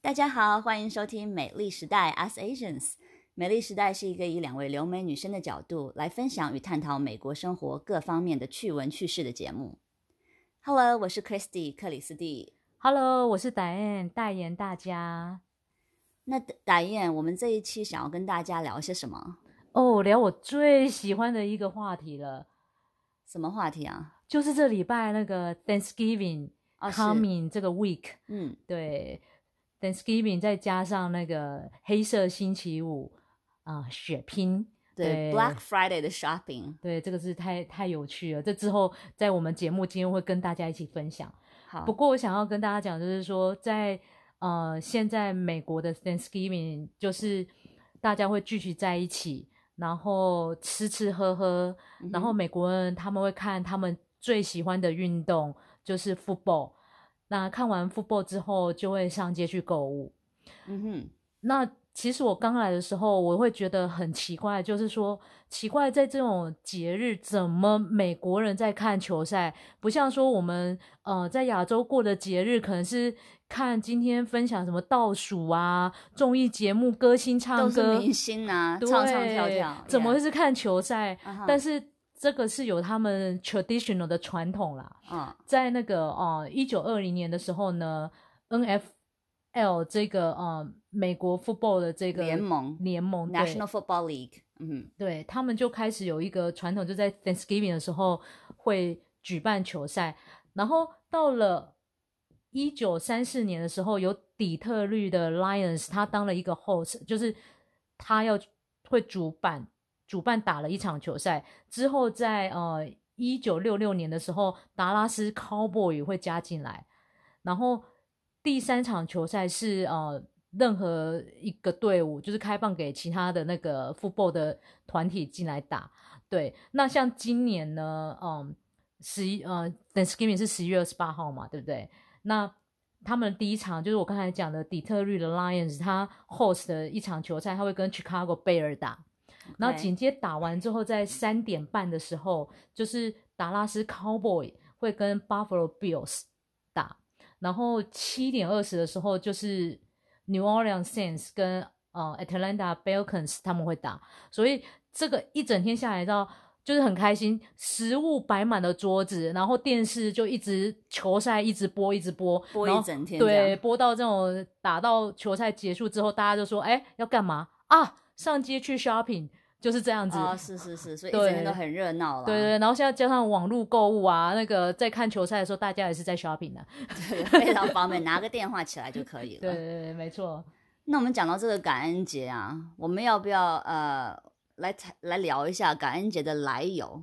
大家好，欢迎收听美丽时代 Us Asians。美丽时代是一个以2位留美女生的角度来分享与探讨美国生活各方面的趣闻趣事的节目。Hello， 我是 Christy 克里斯蒂。 Hello， 我是 Diane 代言大家。 那Diane，我们这一期想要跟大家聊些什么？ 聊我最喜欢的一个话题了。 什么话题啊？ 就是这礼拜那个 Thanksgiving coming 这个 week。对 Thanksgiving 再加上那个黑色星期五血拼。 对 Black Friday 的 shopping。 对，这个是太有趣了。这之后在我们节目今天会跟大家一起分享。 好， 不过我想要跟大家讲就是说在现在美国的 Thanksgiving 就是大家会聚集在一起，然后吃喝喝，然后美国人他们会看他们最喜欢的运动就是 football。那看完 football 之后就会上街去购物。那其实我刚来的时候我会觉得很奇怪，就是说奇怪在这种节日怎么美国人在看球赛，不像说我们在亚洲过的节日可能是看今天分享什么倒数啊，综艺节目歌星唱歌， 都是明星啊，唱唱跳跳， 怎么会是看球赛？但是这个是有他们 traditional 的传统啦。在那个1920年的时候呢 NFL 这个美国 football 的这个联盟 National Football League。 对，他们就开始有一个传统，就在 Thanksgiving 的时候会举办球赛。然后到了1934年的时候，有底特律的 Lions 他当了一个 host， 就是他会主办打了一场球赛。之后在1966年的时候达拉斯 Cowboy 会加进来，然后第3场球赛是任何一个队伍就是开放给其他的那个 football 的团体进来打。对，那像今年呢Thanksgiving 是11月28号嘛，对不对？那他们第一场就是我刚才讲的底特律的 Lions 他 host 的一场球赛，他会跟 Chicago Bears 打。然后紧接打完之后在3点半的时候就是达拉斯 Cowboy 会跟 Buffalo Bills 打，然后7点20的时候就是 New Orleans Saints 跟Atlanta Falcons 他们会打。所以这个一整天下来到就是很开心，食物摆满了桌子，然后电视就一直球赛一直播一整天， 对，播到这种打到球赛结束之后大家就说要干嘛上街去 shopping， 就是这样子。 是，所以一整天都很热闹了。 对，然后现在加上网络购物那个在看球赛的时候大家也是在 shopping 对，非常方便，拿个电话起来就可以了。 对，没错。 那我们讲到这个感恩节啊，我们要不要来聊一下感恩节的来由？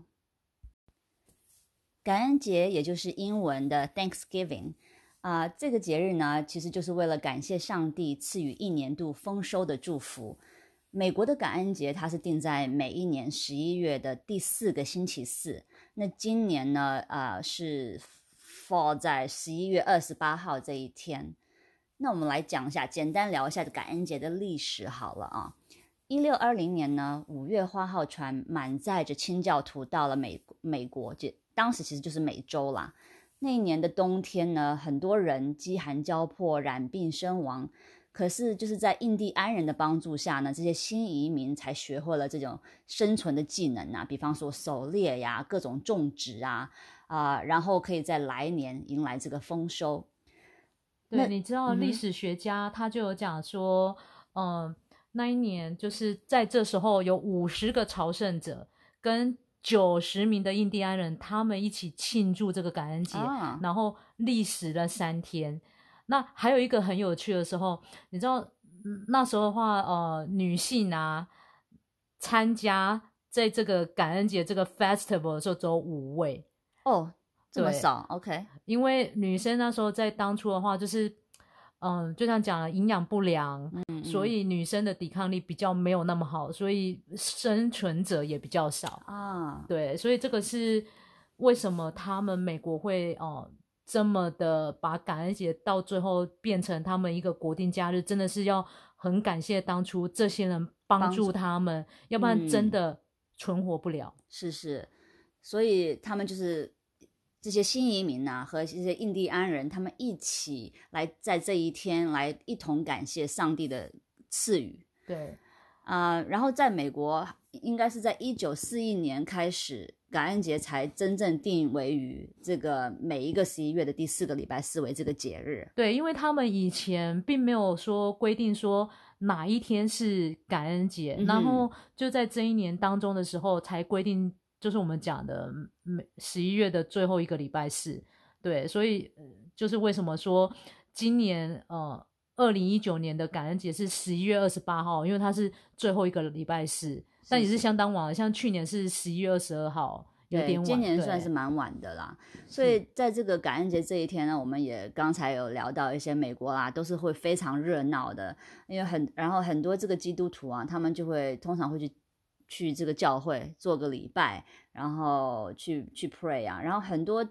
感恩节也就是英文的 Thanksgiving 这个节日呢，其实就是为了感谢上帝赐予1年度丰收的祝福。美国的感恩节它是定在每一年11月的第4个星期四，那今年呢是 fall 在11月28号这一天。那我们来讲一下，简单聊一下感恩节的历史好了1620年呢，5月花号船满载着清教徒到了美国，当时其实就是美洲啦。那一年的冬天呢，很多人饥寒交迫，染病身亡。可是就是在印第安人的帮助下呢，这些新移民才学会了这种生存的技能比方说狩猎呀，各种种植然后可以在来年迎来这个丰收。 对，你知道历史学家他就有讲说那一年就是在这时候有50个朝圣者跟90名的印第安人他们一起庆祝这个感恩节然后历时了3天。那还有一个很有趣的时候，你知道那时候的话女性参加在这个感恩节这个 festival 的时候只有5位。 这么少 OK。 因为女生那时候在当初的话就是就像讲了营养不良所以女生的抵抗力比较没有那么好，所以生存者也比较少对，所以这个是为什么他们美国会这么的把感恩节到最后变成他们一个国定假日，真的是要很感谢当初这些人帮助他们，要不然真的存活不了。 是，所以他们就是这些新移民啊和这些印第安人，他们一起来在这一天来一同感谢上帝的赐予。 对， 然后在美国应该是在1941年开始，感恩节才真正定为于这个每一个11月的第4个礼拜四为这个节日。 对，因为他们以前并没有说规定说哪一天是感恩节，然后就在这一年当中的时候才规定，就是我们讲的11月的最后一个礼拜四。对，所以就是为什么说今年2019年的感恩节是11月28号，因为它是最后一个礼拜四，但也是相当晚了，像去年是11月22号，有点晚。 今年算是蛮晚的啦。所以在这个感恩节这一天呢，我们也刚才有聊到一些美国啦，都是会非常热闹的，因为然后很多这个基督徒啊，他们就会通常会去这个教会做个礼拜，然后去 pray 啊，然后很多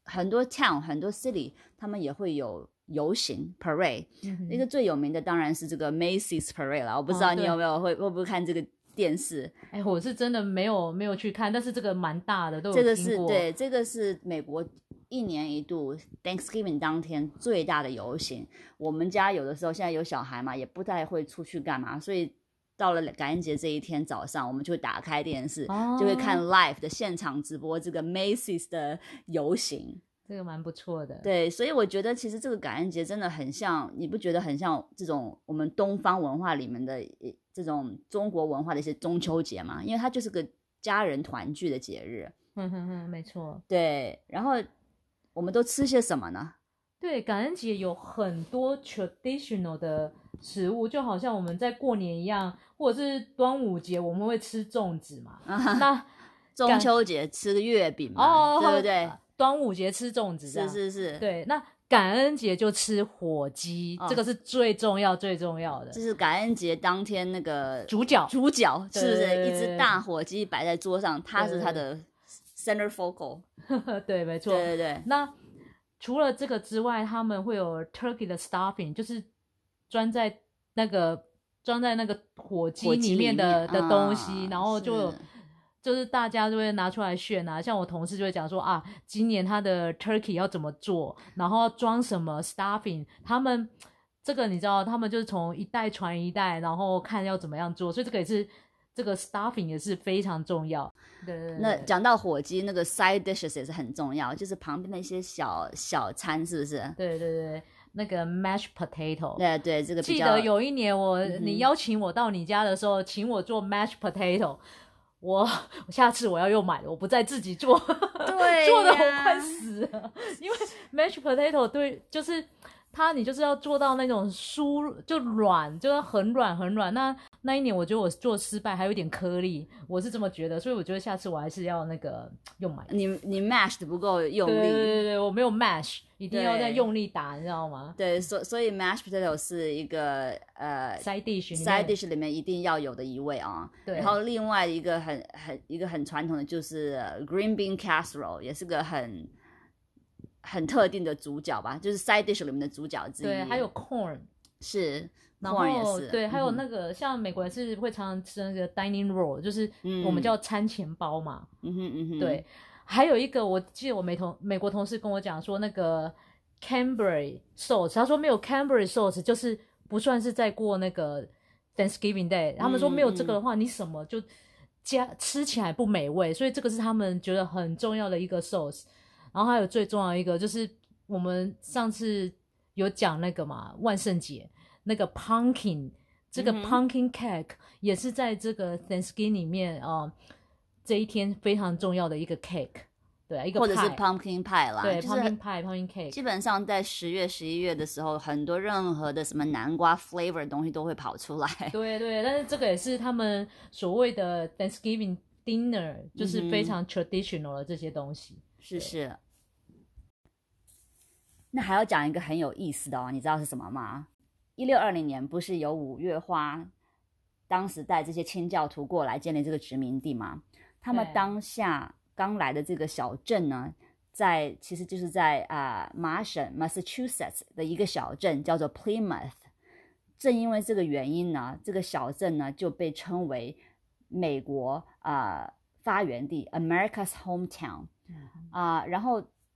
town 很多 city 他们也会有游行 parade，一个最有名的当然是这个 Macy's parade 啦。我不知道你有没有会不会看这个电视？ 我是真的没有去看，但是这个蛮大的，都有听过。 对，这个是美国1年1度 Thanksgiving 当天最大的游行。我们家有的时候现在有小孩嘛，也不太会出去干嘛，所以到了感恩节这一天早上，我们就会打开电视，就会看 live 的现场直播这个 Macy's 的游行。 这个蛮不错的。 对，所以我觉得其实这个感恩节真的很像，你不觉得很像这种我们东方文化里面的这种中国文化的一些中秋节嘛？因为它就是个家人团聚的节日。 没错。 对，然后我们都吃些什么呢？ 对，感恩节有很多 traditional 的食物，就好像我们在过年一样，或者是端午节我们会吃粽子嘛。那中秋节吃月饼嘛，对不对？ 端午节吃粽子， 是。 对，那感恩节就吃火鸡，这个是最重要的。 就是感恩节当天那个主角是不是一只大火鸡摆在桌上，它是它的 center focal。 对，没错。 对。 那除了这个之外，他们会有 turkey 的 stuffing， 就是装在那个火鸡里面的东西，然后就是大家就会拿出来炫啊，像我同事就会讲说啊，今年他的 turkey 要怎么做，然后要装什么 stuffing， 他们这个你知道，他们就是从一代传一代，然后看要怎么样做，所以这个也是这个 stuffing 也是非常重要。对。 那讲到火鸡，那个 side dishes 也是很重要，就是旁边的一些小餐，是不是？ 对，那个 mashed potato。 对，这个比较。 记得有一年你邀请我到你家的时候，请我做 mashed potato。我下次我要又买了，我不再自己做。 对， 做的我快死了。因为 mashed potato 对，就是你就是要做到那种就软，就是很软。那一年我觉得我做失败，还有点颗粒，我是这么觉得，所以我觉得下次我还是要那个又买。 你 mash 的不够用力。 对，我没有 mash， 一定要再用力打，你知道吗？ 对，所以 mashed potato 是一个 side dish 里面一定要有的一味啊。 对。 然后另外一个很传统的就是 green bean casserole， 也是个很特定的主角吧，就是 side dish 里面的主角之一。 对，还有 corn。 是。 然后对，还有那个像美国人是会常常吃那个 dining roll， 就是我们叫餐前包嘛。对，还有一个我记得我美国同事跟我讲说那个 Cranberry sauce， 他说没有 Cranberry sauce 就是不算是在过那个 Thanksgiving Day， 他们说没有这个的话，你什么就吃起来不美味，所以这个是他们觉得很重要的一个 sauce。然后还有最重要一个就是我们上次有讲那个嘛，万圣节那个 pumpkin， 这个 pumpkin cake 也是在这个 Thanksgiving 里面这一天非常重要的一个 cake。对，一个或者是 pumpkin pie 啦。 对， pumpkin pie pumpkin cake。 基本上在10月11月的时候，很多任何的什么南瓜 flavor 的东西都会跑出来。 对，但是这个也是他们所谓的 Thanksgiving dinner， 就是非常 traditional 的这些东西。 是。那还要讲一个很有意思的你知道是什么吗？1620年不是有5月花当时带这些清教徒过来建立这个殖民地吗？他们当下刚来的这个小镇呢，其实就是在麻省 Massachusetts 的一个小镇叫做 Plymouth。 正因为这个原因呢，这个小镇呢就被称为美国发源地 America's hometown。然后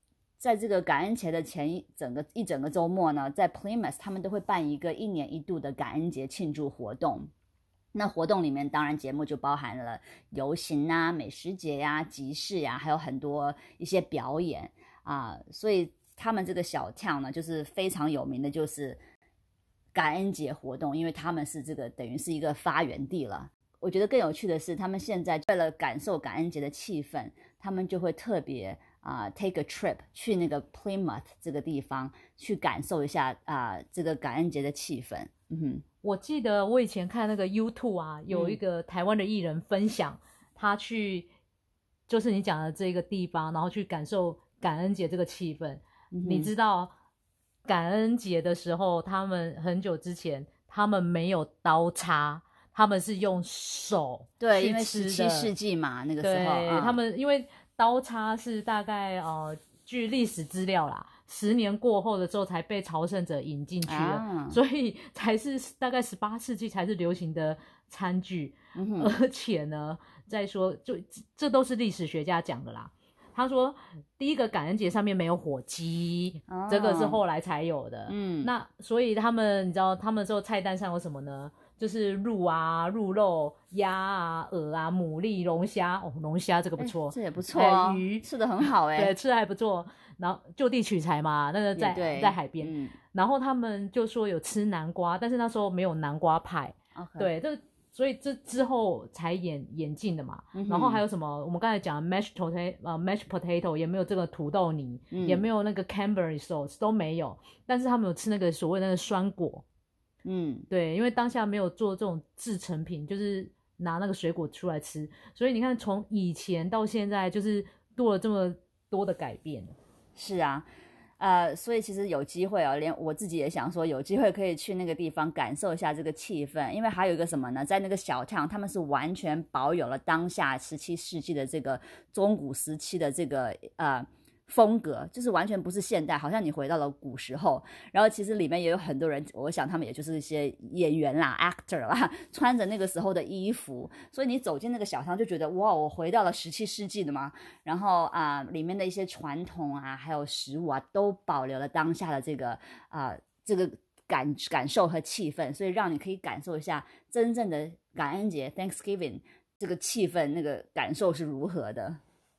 在这个感恩节的前一整个周末呢，在 Plymouth 他们都会办一个1年1度的感恩节庆祝活动。那活动里面当然节目就包含了游行啊、美食节呀、集市呀，还有很多一些表演啊，所以他们这个小 town 呢，就是非常有名的，就是感恩节活动，因为他们是这个等于是一个发源地了。我觉得更有趣的是，他们现在为了感受感恩节的气氛，他们就会特别take a trip 去那个 Plymouth 这个地方去感受一下这个感恩节的气氛。 我记得我以前看那个 YouTube 啊，有一个台湾的艺人分享，他去就是你讲的这个地方，然后去感受感恩节这个气氛。你知道感恩节的时候，他们很久之前他们没有刀叉，他们是用手去吃的。 对，因为17世纪嘛，那个时候对，他们因为刀叉是大概据历史资料啦，10年过后的时候才被朝圣者引进去的，所以才是大概18世纪才是流行的餐具。而且呢，再说就这都是历史学家讲的啦。他说第一个感恩节上面没有火鸡，这个是后来才有的。那所以他们你知道他们之后菜单上有什么呢？就是鹿啊、鹿肉、鸭啊、鹅啊、牡蛎、龙虾。龙虾这个不错， 这也不错哦， 鱼吃的很好对，吃的还不错。然后就地取材嘛，那个在海边。然后他们就说有吃南瓜，但是那时候没有南瓜派。对，所以这之后才演进的嘛。然后还有什么？我们刚才讲 mashed potato 也没有这个土豆泥，也没有那个 cranberry sauce 都没有。但是他们有吃那个所谓的那个酸果。对，因为当下没有做这种制成品，就是拿那个水果出来吃，所以你看从以前到现在就是多了这么多的改变。 是啊，所以其实有机会连我自己也想说，有机会可以去那个地方感受一下这个气氛，因为还有一个什么呢，在那个小town他们是完全保有了当下17世纪的这个中古时期的这个风格，就是完全不是现代，好像你回到了古时候。然后其实里面也有很多人，我想他们也就是一些演员啦 actor 啦，穿着那个时候的衣服，所以你走进那个小巷就觉得哇，我回到了17世纪的嘛。然后里面的一些传统还有食物都保留了当下的这个感受和气氛，所以让你可以感受一下真正的感恩节 Thanksgiving 这个气氛，那个感受是如何的。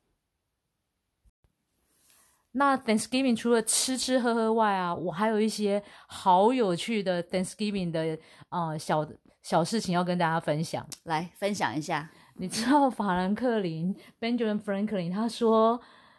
那 Thanksgiving 除了吃喝喝外我还有一些好有趣的 Thanksgiving 的小事情要跟大家分享。 来分享一下。 你知道法兰克林 Benjamin Franklin 他说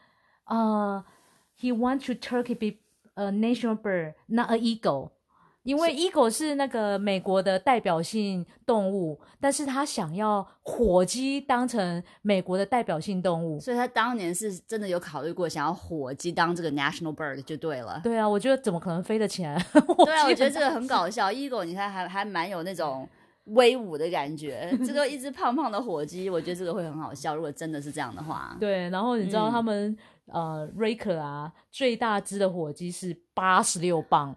he want to turkey be a national bird, not an eagle。因为 eagle 是那个美国的代表性动物，但是他想要火鸡当成美国的代表性动物， 所以他当年是真的有考虑过想要火鸡当这个 national bird 就对了。 对啊，我觉得怎么可能飞得起来？ 对啊，我觉得这个很搞笑。eagle 你看还蛮有那种威武的感觉，这个一只胖胖的火鸡，我觉得这个会很好笑。如果真的是这样的话， 对。然后你知道他们Raker 最大只的火鸡是86磅。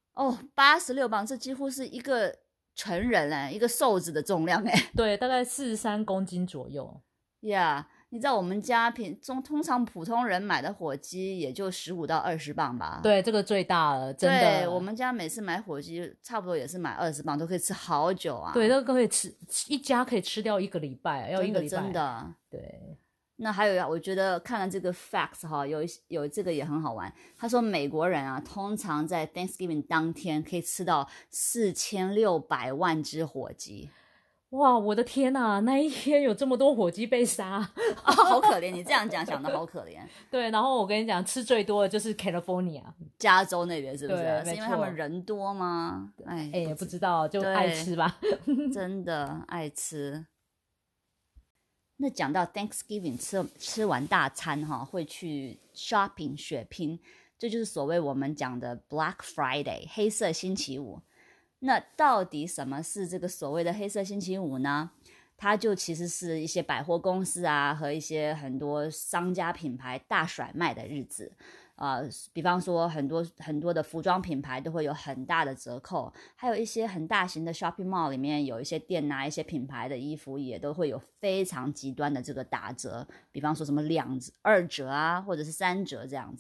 86磅，这几乎是一个成人一个瘦子的重量对，大概43公斤左右。 Yeah， 你知道我们家通常普通人买的火鸡也就15到20磅吧。 对，这个最大了，真的。 对，我们家每次买火鸡差不多也是买20磅，都可以吃好久啊。 对，这个可以吃一家可以吃掉1个礼拜，要1个礼拜。 真的。 对。 那还有我觉得看了这个 facts 有这个也很好玩。他说美国人通常在 Thanksgiving 当天可以吃到4600万只火鸡。 哇，我的天哪，那一天有这么多火鸡被杀好可怜。你这样讲的好可怜。 对，然后我跟你讲吃最多的就是 California 加州那边，是不是？ 对， 是因为他们人多吗？ 不知道，就爱吃吧。 真的爱吃。那讲到 Thanksgiving 吃完大餐会去 shopping 血拼，这就是所谓我们讲的 Black Friday 黑色星期五。那到底什么是这个所谓的黑色星期五呢？它就其实是一些百货公司和一些很多商家品牌大甩卖的日子。比方说很多的服装品牌都会有很大的折扣，还有一些很大型的 shopping mall 里面有一些店一些品牌的衣服也都会有非常极端的这个打折，比方说什么2折或者是3折这样子。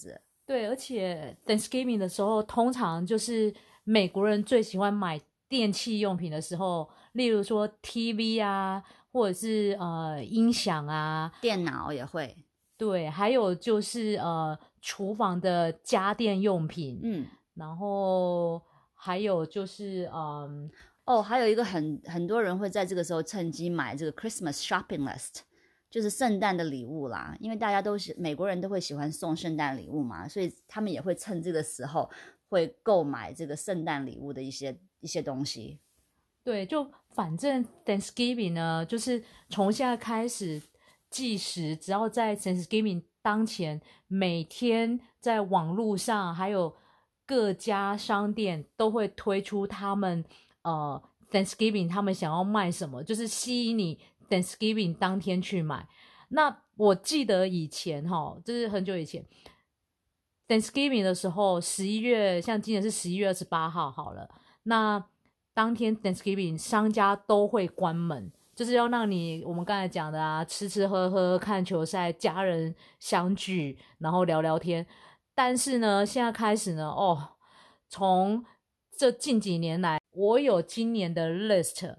对，而且 Thanksgiving 的时候，通常就是美国人最喜欢买电器用品的时候，例如说 TV 啊，或者是音响啊， 电脑也会。 对，还有就是厨房的家电用品，然后还有就是还有一个很多人会在这个时候趁机买这个 Christmas shopping list， 就是圣诞的礼物啦，因为大家都是美国人都会喜欢送圣诞礼物嘛，所以他们也会趁这个时候会购买这个圣诞礼物的一些东西。 对，就反正 Thanksgiving 呢，就是从现在开始计时，只要在 Thanksgiving 当前，每天在网络上还有各家商店都会推出他们Thanksgiving 他们想要卖什么，就是吸引你 Thanksgiving 当天去买。那我记得以前就是很久以前 Thanksgiving 的时候，11月，像今年是11月28号好了，那当天 Thanksgiving 商家都会关门，就是要让你我们刚才讲的啊，吃吃喝喝看球赛，家人相聚，然后聊聊天。但是呢，现在开始呢，从这近几年来，我有今年的 list，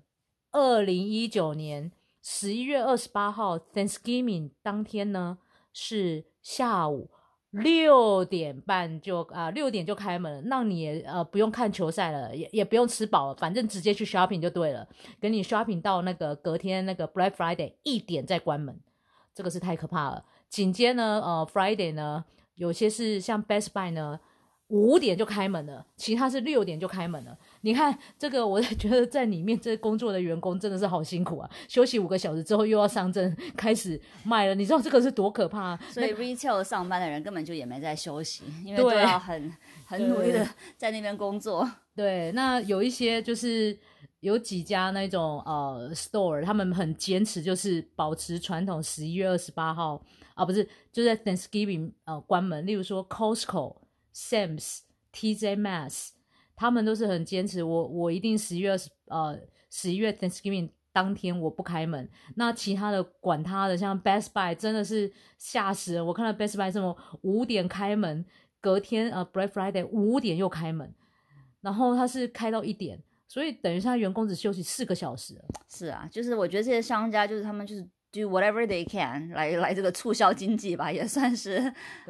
2019年11月28号 Thanksgiving 当天呢是下午6点半6点就开门，让你也不用看球赛了，也不用吃饱了，反正直接去 shopping 就对了，给你 shopping 到那个隔天那个 Black Friday 1点再关门，这个是太可怕了。紧接呢Friday 呢，有些是像 Best Buy 呢5点就开门了，其他是6点就开门了。你看这个，我觉得在里面这工作的员工真的是好辛苦啊！休息5个小时之后又要上阵开始卖了，你知道这个是多可怕啊！ 所以 retail 上班的人根本就也没在休息，因为都要很努力的在那边工作。 对，那有一些就是有几家那种store， 他们很坚持，就是保持传统11月28号不是，就在 Thanksgiving 关门。例如说 Costco、Sam's、TJ Maxx， 他们都是很坚持，我一定11月 Thanksgiving 当天我不开门。那其他的管他的，像 Best Buy 真的是吓死人，我看到 Best Buy 这么5点开门，隔天Black Friday 5点又开门，然后他是开到1点，所以等于是他员工只休息4个小时了。 是啊，就是我觉得这些商家就是他们就是 do whatever they can 来这个促销经济吧，也算是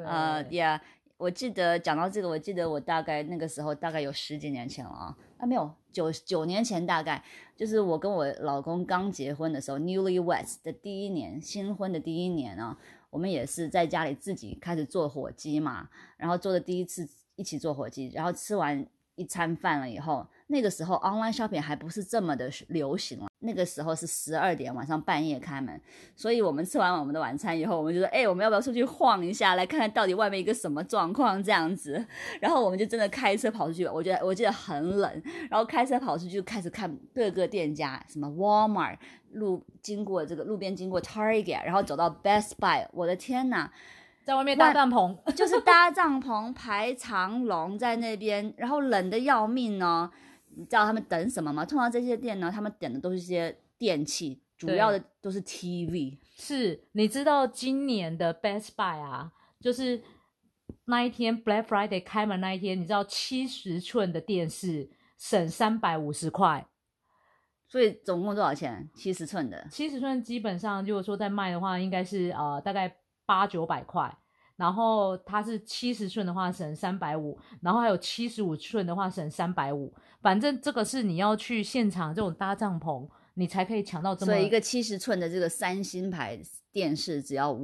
yeah。我记得讲到这个，我记得我大概那个时候大概有10几年前了没有9年前，大概就是我跟我老公刚结婚的时候 ，newlyweds 的第一年，新婚的第一年我们也是在家里自己开始做火鸡嘛，然后做的第一次一起做火鸡，然后吃完一餐饭了以后，那个时候 online shopping 还不是这么的流行了，那个时候是12点晚上半夜开门，所以我们吃完我们的晚餐以后，我们就说我们要不要出去晃一下，来看看到底外面一个什么状况这样子，然后我们就真的开车跑出去，我记得很冷，然后开车跑出去开始看各个店家，什么 Walmart 路边经过 Target， 然后走到 Best Buy， 我的天哪， 在外面搭帐篷， 就是搭帐篷排长龙在那边，然后冷的要命哦。你知道他们等什么吗？通常这些店呢，他们等的都是一些电器，主要的都是 TV。 是，你知道今年的 Best Buy 就是那一天 Black Friday 开门那一天，你知道70寸的电视省350块。 所以总共多少钱？70寸的 ，70寸基本上如果说在卖的话，应该是大概800-900块。然后它是70寸的话省350，然后还有75寸的话省350。反正这个是你要去现场这种搭帐篷，你才可以抢到这么。 所以一个70寸的这个3星牌电视只要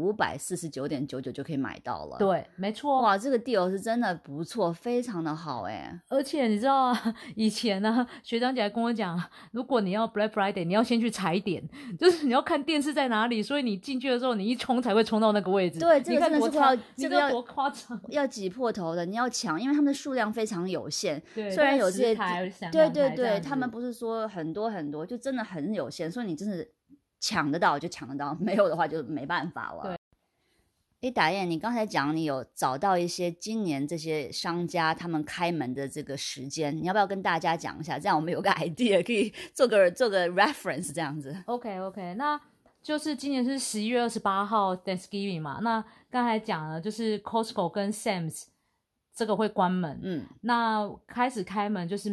549.99就可以买到了。 对，没错。 哇，这个 deal 是真的不错，非常的好而且你知道以前呢，学长姐还跟我讲，如果你要 Black Friday， 你要先去踩点，就是你要看电视在哪里，所以你进去的时候，你一冲才会冲到那个位置。 对，这个真的是这个要多夸张， 要挤破头的，你要抢，因为他们的数量非常有限。 对， 虽然有这些对， 他们不是说很多很多，就真的很有限，所以你真的抢得到就抢得到，没有的话就没办法了。对，达燕，你刚才讲你有找到一些今年这些商家他们开门的这个时间，你要不要跟大家讲一下？这样我们有个 idea 可以做个 reference 这样子。 OK， 那就是今年是11月28号 Thanksgiving 嘛，那刚才讲了就是 Costco 跟 Sam's 这个会关门。那开始开门就是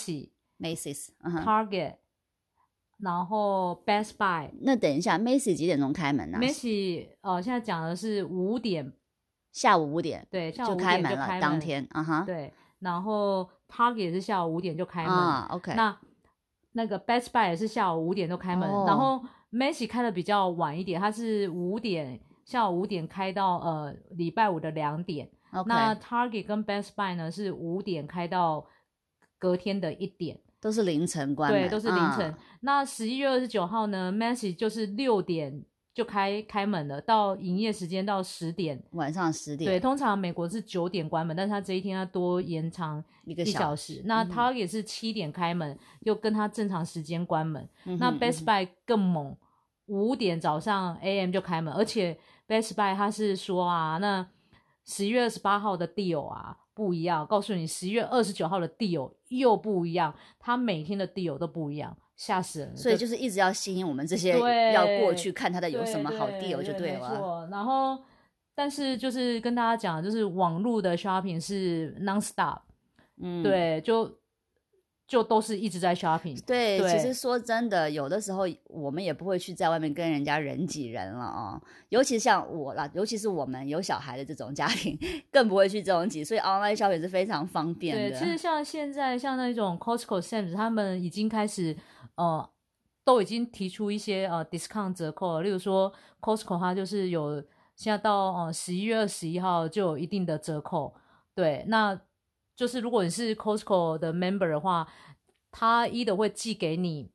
Macy's、Target， 然后 Best Buy。 那等一下 ，Macy's 几点钟开门呢 ？Macy's 现在讲的是5点， 下午5点， 对，下午5点就开门了，当天， 对。然后 Target 也是下午5点就开门 ，OK。 那个 Best Buy 也是下午5点就开门，然后 Macy's 开的比较晚一点，它是下午5点开到礼拜五的2点。那 Target 跟 Best Buy 呢是5点开到隔天的1点， 都是凌晨关门， 对，都是凌晨。那11月29号呢 Macy's 就是6点就开门了，到营业时间到10点， 晚上10点。 对，通常美国是9点关门，但是他这一天要多延长1小时。那 Target 是7点开门，又跟他正常时间关门。那 Best Buy 更猛，5点早上 AM 就开门，而且 Best Buy 他是说那11月28号的 deal 不一样，告诉你11月29号的 deal 又不一样，他每天的 deal 都不一样。吓死人了， 所以就是一直要吸引我们这些要过去看他的有什么好 deal 就对了。 没错。然后但是就是跟大家讲，就是网络的 shopping 是 non-stop，对，就都是一直在 shopping。 对，其实说真的，有的时候我们也不会去在外面跟人家人挤人了尤其像我啦，尤其是我们有小孩的这种家庭，更不会去这种挤，所以 online shopping 是非常方便的。 对，其实像现在像那种 Costco、Sam's 他们已经开始都已经提出一些discount 折扣了，例如说 Costco 它就是有现在到11月21号就有一定的折扣。对，那就是如果你是 Costco 的 member 的话，他either会寄给你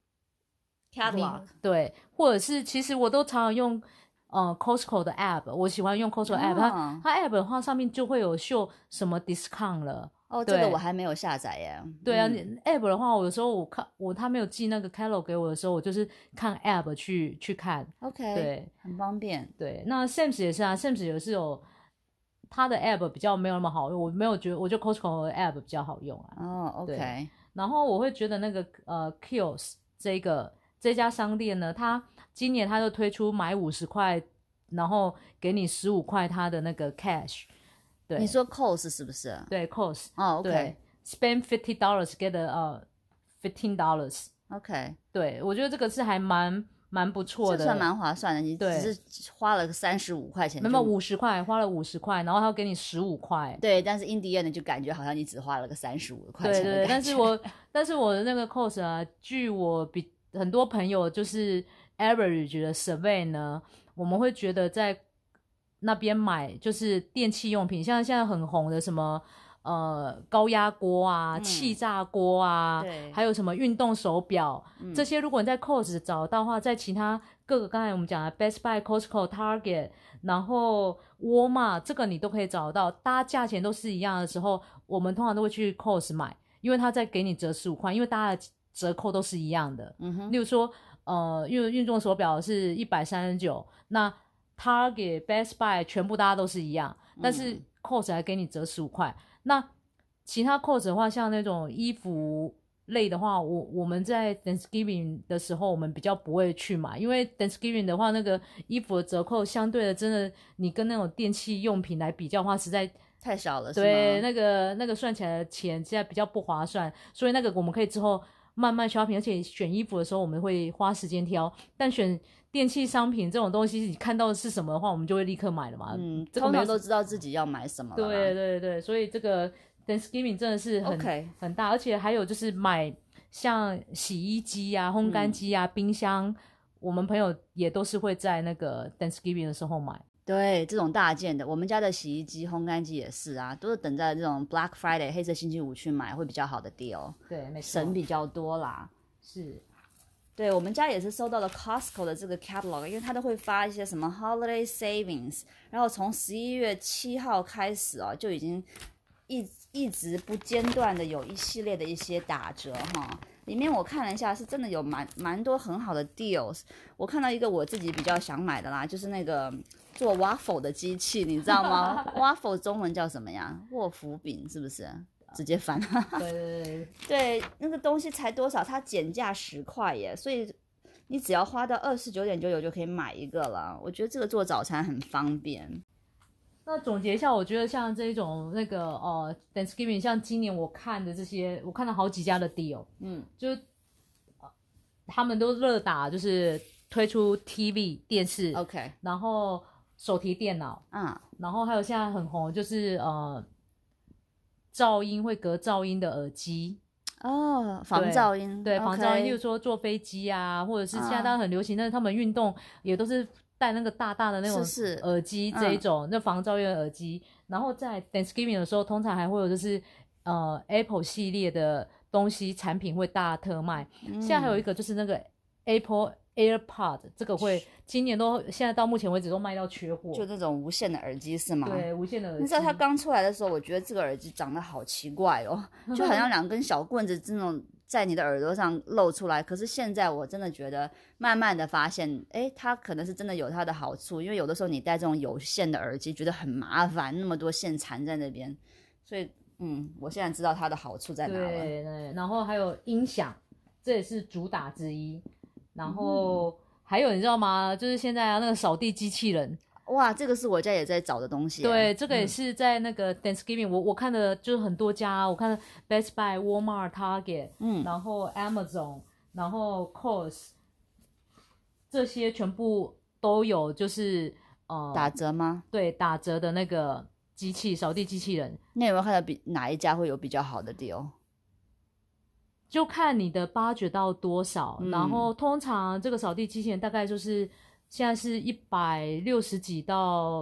catalog， 对，或者是其实我都常常用Costco 的 app， 我喜欢用 Costco app，它 app 的话上面就会有秀什么 discount 了。 这个我还没有下载耶。 对啊，app 的话，有时候他没有寄那个 catalog 给我的时候，我就是看 app 去看。 OK， 对， 很方便。 对，那 Sam's 也是Sam's 也是有它的 app 比较没有那么好用，我没有觉得，我觉得 Costco 的 app 比较好用 OK。 然后我会觉得那个Kiosk 这家商店呢，它今年它就推出买50块，然后给你15块它的那个 cash。对， 你说 cost 是不是？ 对 cost。 OK。 对 ，spend $50 get $15。 OK。 对，我觉得这个是还蛮不错的， 这算蛮划算的。你只是花了35块钱， 没有50块，花了50块，然后他要给你15块。 对，但是 in the end 就感觉好像你只花了个35块钱的对， 感觉。 但是我的那个 cost 据我很多朋友就是 average 的 survey 呢，我们会觉得在那边买就是电器用品，像现在很红的什么高压锅气炸锅还有什么运动手表，这些如果你在 Costco 找到的话，在其他各个刚才我们讲的 Best Buy、Costco、Target， 然后 Walmart 这个你都可以找到，大家价钱都是一样的时候，我们通常都会去 Costco 买，因为他在给你折15块，因为大家的折扣都是一样的。例如说因为运动手表是139，那 Target、Best Buy 全部大家都是一样，但是 Costco 还给你折15块。那其他 Costco 的话，像那种衣服类的话，我们在 Thanksgiving 的时候，我们比较不会去买，因为 Thanksgiving 的话，那个衣服的折扣相对的，真的你跟那种电器用品来比较的话，实在太少了。 对，那个算起来的钱现在比较不划算，所以那个我们可以之后慢慢 shopping， 而且选衣服的时候我们会花时间挑，但选电器商品这种东西，你看到的是什么的话，我们就会立刻买了嘛。 通常都知道自己要买什么了。 对，所以这个 Thanksgiving 真的是很大，而且还有就是买像洗衣机烘干机冰箱，我们朋友也都是会在那个 Thanksgiving 的时候买。 对，这种大件的，我们家的洗衣机、烘干机也是都是等在这种 Black Friday 黑色星期五去买，会比较好的 deal。 对，没错， 省比较多啦。 是。 对，我们家也是收到了 Costco 的这个 catalog， 因为它都会发一些什么 holiday savings， 然后从11月7号开始就已经一直不间断的有一系列的一些打折里面我看了一下，是真的有蛮多很好的 deals。我看到一个我自己比较想买的啦，就是那个做 waffle 的机器，你知道吗？waffle 中文叫什么呀？沃福饼是不是？直接翻。对，那个东西才多少？它减价10块耶，所以你只要花到29.99就可以买一个了。我觉得这个做早餐很方便。 那总结一下，我觉得像这种那个Thanksgiving， 像今年我看的这些，我看了好几家的 deal， 就他们都热打，就是推出 TV 电视 ，OK， 然后手提电脑，然后还有现在很红就是噪音会隔噪音的耳机。 防噪音， 对， okay， 防噪音，例如说坐飞机啊，或者是现在当然很流行，但是他们运动也都是戴那个大大的那种耳机，这一种那防噪音的耳机。然后在 Thanksgiving 的时候，通常还会有就是Apple 系列的东西产品会大特卖。现在还有一个就是那个 Apple AirPod， 这个会今年现在到目前为止都卖到缺货， 就那种无线的耳机是吗？ 对，无线的耳机。 你知道它刚出来的时候，我觉得这个耳机长得好奇怪哦，就好像2根小棍子这种在你的耳朵上露出来。可是现在我真的觉得，慢慢的发现，它可能是真的有它的好处，因为有的时候你戴这种有线的耳机觉得很麻烦，那么多线缠在那边，所以我现在知道它的好处在哪了。 对，然后还有音响，这也是主打之一。然后还有你知道吗？就是现在那个扫地机器人， 哇，这个是我家也在找的东西。 对，这个也是在那个 Thanksgiving，我看的就是很多家，我看的 Best Buy、Walmart、Target，然后 Amazon， 然后 Kohl's， 这些全部都有，就是打折吗？ 对，打折的那个扫地机器人。 那有没有看到哪一家会有比较好的 deal？ 就看你的 budget 到多少，然后通常这个扫地机器人大概就是现在是160几到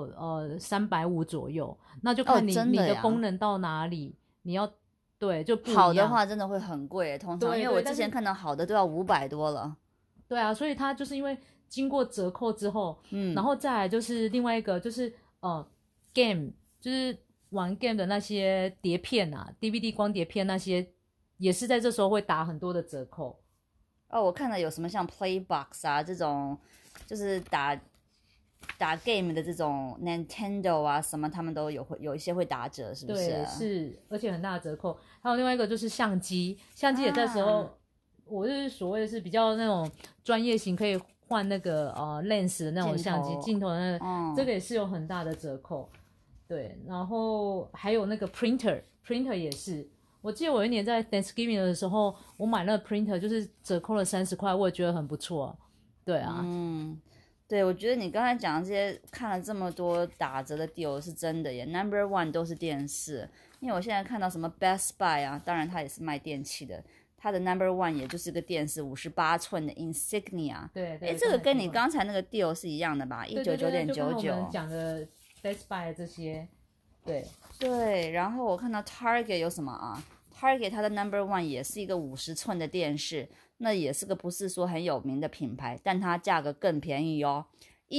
350左右，那就看你的功能到哪里，你要对就不一样。 好的话真的会很贵，通常因为我之前看到好的都要500多了。 对啊，所以它就是因为经过折扣之后，然后再来就是另外一个就是game， 就是玩 game 的那些碟片啊 ，DVD 光碟片那些。也是在这时候会打很多的折扣。 我看了有什么像 Playbox 啊这种，就是打 game 的这种 Nintendo 啊什么，他们都有一些会打折，是不是？ 对，是，而且很大的折扣。还有另外一个就是相机也在时候，我就是所谓的是比较那种专业型，可以换那个lens 的那种相机镜头的那个，这个也是有很大的折扣。对，然后还有那个 printer 也是。我记得我一年在 Thanksgiving 的时候，我买那个 printer 就是折扣了30块，我也觉得很不错。对啊， 对，我觉得你刚才讲的这些看了这么多打折的 deal 是真的耶。Number one 都是电视，因为我现在看到什么 Best Buy 啊，当然它也是卖电器的，它的 Number one 也就是个电视58寸的 Insignia。 对， 这个跟你刚才那个 deal 是一样的吧？199.99。 就跟我们讲的 Best Buy 这些， 对，然后我看到 Target 有什么啊？Target 它的 Number one 也是一个50寸的电视，那也是个不是说很有名的品牌，但它价格更便宜哦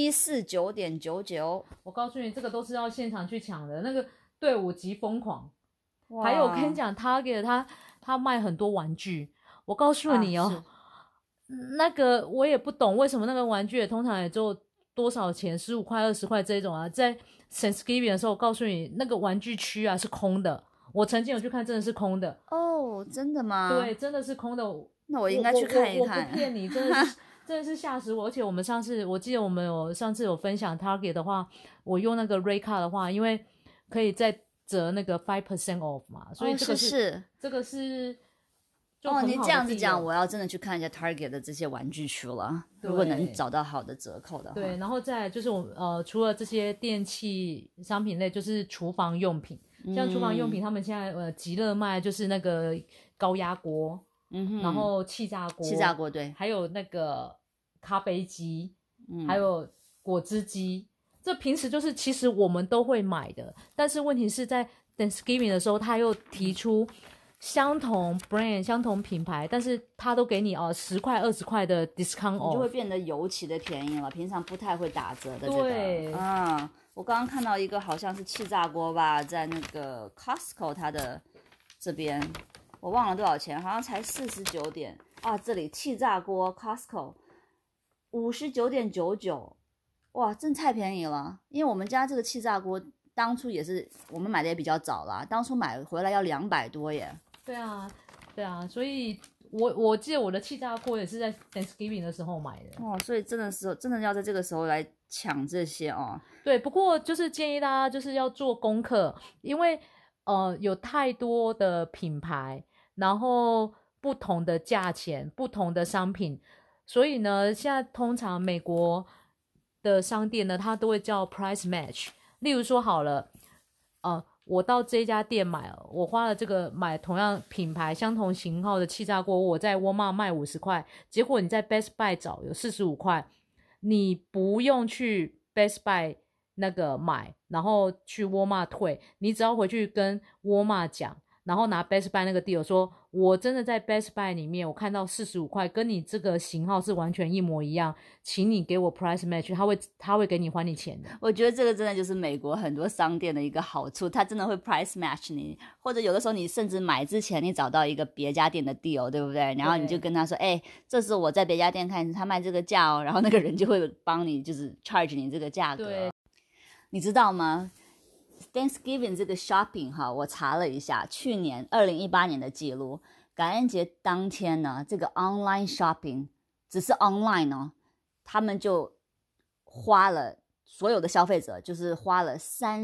，149.99。 我告诉你，这个都是要现场去抢的，那个队伍极疯狂。还有我跟你讲 ，Target 它卖很多玩具，我告诉你哦，那个我也不懂为什么那个玩具也通常也就多少钱，15块、20块这种啊，在 Thanksgiving 的时候，我告诉你那个玩具区啊是空的。我曾经有去看，真的是空的哦，真的吗？ 对，真的是空的。 那我应该去看一看。 我不骗你，真的是吓死我。而且我们我记得我们上次有分享 Target 的话，我用那个 Ray Card 的话，因为可以再折那个 5% off 嘛，所以这个是就很好的你这样子讲，我要真的去看一下 Target 的这些玩具区了。如果能找到好的折扣的话。 对，然后再来就是除了这些电器商品类，就是厨房用品。像厨房用品，他们现在极热卖就是那个高压锅，然后气炸锅， 对， 还有那个咖啡机，还有果汁机。这平时就是其实我们都会买的，但是问题是在 Thanksgiving 的时候，他又提出相同 brand 相同品牌，但是他都给你10块20块的 discount off， 就会变得尤其的便宜了，平常不太会打折的这个。 对， 我刚刚看到一个好像是气炸锅吧，在那个 Costco 它的这边，我忘了多少钱，好像才49点啊！这里气炸锅 Costco 59.99，哇，真太便宜了！因为我们家这个气炸锅当初也是我们买的也比较早啦，当初买回来要200多耶。 对啊，所以我记得我的气炸锅也是在 Thanksgiving 的时候买的哦，所以真的要在这个时候来抢这些哦。 对，不过就是建议大家就是要做功课，因为有太多的品牌，然后不同的价钱，不同的商品，所以呢，现在通常美国的商店呢，它都会叫 price match。例如说好了，我到这家店买了，我花了这个买同样品牌、相同型号的气炸锅，我在沃尔玛卖50块，结果你在 Best Buy 找有45块，你不用去 Best Buy 那个买，然后去沃尔玛退，你只要回去跟沃尔玛讲，然后拿 Best Buy 那个 deal 说，我真的在 Best Buy 里面我看到45块，跟你这个型号是完全一模一样，请你给我 price match， 他会给你还你钱的。 我觉得这个真的就是美国很多商店的一个好处，它真的会 price match 你，或者有的时候你甚至买之前你找到一个别家店的 deal， 对不对？然后你就跟他说，哎，这是我在别家店看他卖这个价哦，然后那个人就会帮你就是 charge 你这个价格。 对， 你知道吗？Thanksgiving 这个 shopping 哈，我查了一下，去年2018年的记录，感恩节当天呢，这个 online shopping 只是 online 哦，他们就花了所有的消费者就是花了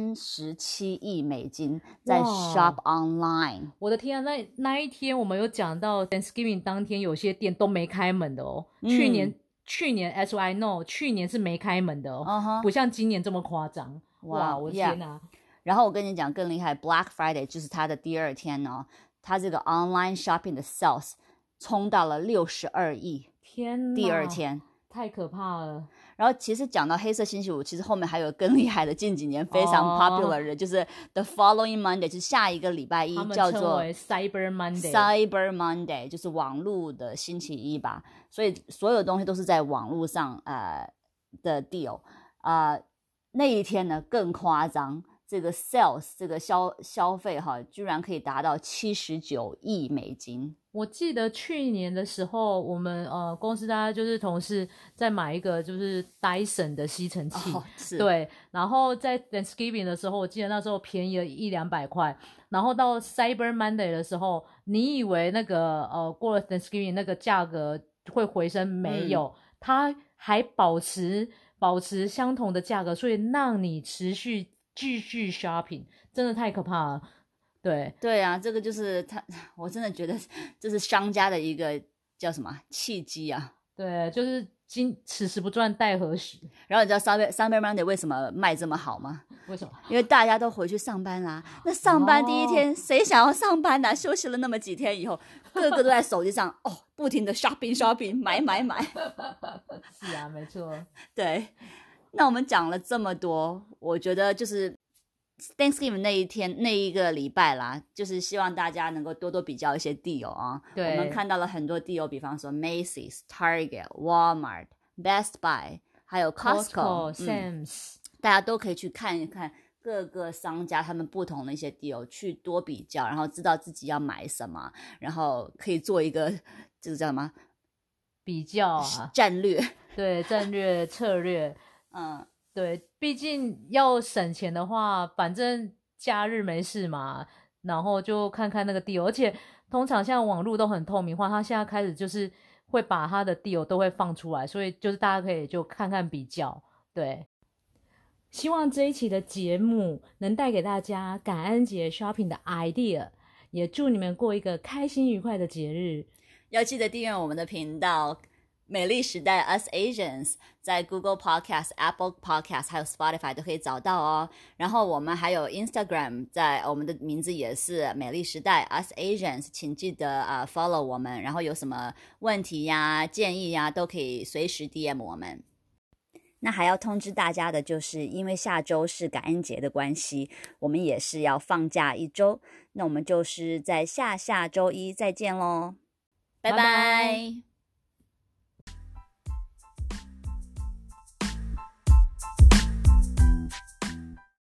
37亿美金在 shop online。 我的天啊，那一天我们有讲到 Thanksgiving 当天有些店都没开门的哦。去年 as I know， 去年是没开门的哦，不像今年这么夸张。哇，我的天啊！ 然后我跟你讲更厉害 ，Black Friday 就是它的第二天哦，它这个 online shopping 的 sales 冲到了62亿， 天哪， 第二天太可怕了。 然后其实讲到黑色星期五，其实后面还有更厉害的，近几年非常 popular 的，就是 the following Monday， 就是下一个礼拜一，叫做 Cyber Monday， Cyber Monday 就是网络的星期一吧。所以所有东西都是在网络上的 deal 那一天呢更夸张，这个 sales 这个消费哈，居然可以达到79亿美金。 我记得去年的时候，我们公司大家就是同事在买一个就是 Dyson 的吸尘器，对，然后在 Thanksgiving 的时候，我记得那时候便宜了100-200块，然后到 Cyber Monday 的时候，你以为那个过了 Thanksgiving 那个价格会回升，没有，它还保持相同的价格，所以让你持续继续 shopping， 真的太可怕了。对啊，这个就是我真的觉得这是商家的一个叫什么契机啊。 对，就是此时不赚待何时。 然后你知道 Cyber Monday 为什么卖这么好吗？ 为什么？ 因为大家都回去上班啦。那上班第一天，谁想要上班呢？休息了那么几天以后，个个都在手机上不停的 shopping 买。 是啊，没错。 对，那我们讲了这么多，我觉得就是 Thanksgiving 那一天那一个礼拜啦，就是希望大家能够多多比较一些 deal 啊。 对， 我们看到了很多 deal， 比方说 Macy's、Target、Walmart、Best Buy， 还有 Costco、Sam's， 大家都可以去看一看各个商家他们不同的一些 deal， 去多比较，然后知道自己要买什么，然后可以做一个就是叫什么比较啊， 战略。 对，战略策略。对，毕竟要省钱的话，反正假日没事嘛，然后就看看那个 deal， 而且通常像网络都很透明化，他现在开始就是会把他的 deal 都会放出来，所以就是大家可以就看看比较。对，希望这一期的节目能带给大家感恩节 shopping 的 idea， 也祝你们过一个开心愉快的节日。 要记得订阅我们的频道美丽时代 Us Asians， 在 Google Podcast、Apple Podcast 还有 Spotify 都可以找到哦。然后我们还有 Instagram， 在我们的名字也是美丽时代 Us Asians， 请记得follow 我们，然后有什么问题呀、建议呀，都可以随时 DM 我们。那还要通知大家的就是，因为下周是感恩节的关系，我们也是要放假1周，那我们就是在下周一再见咯，拜拜。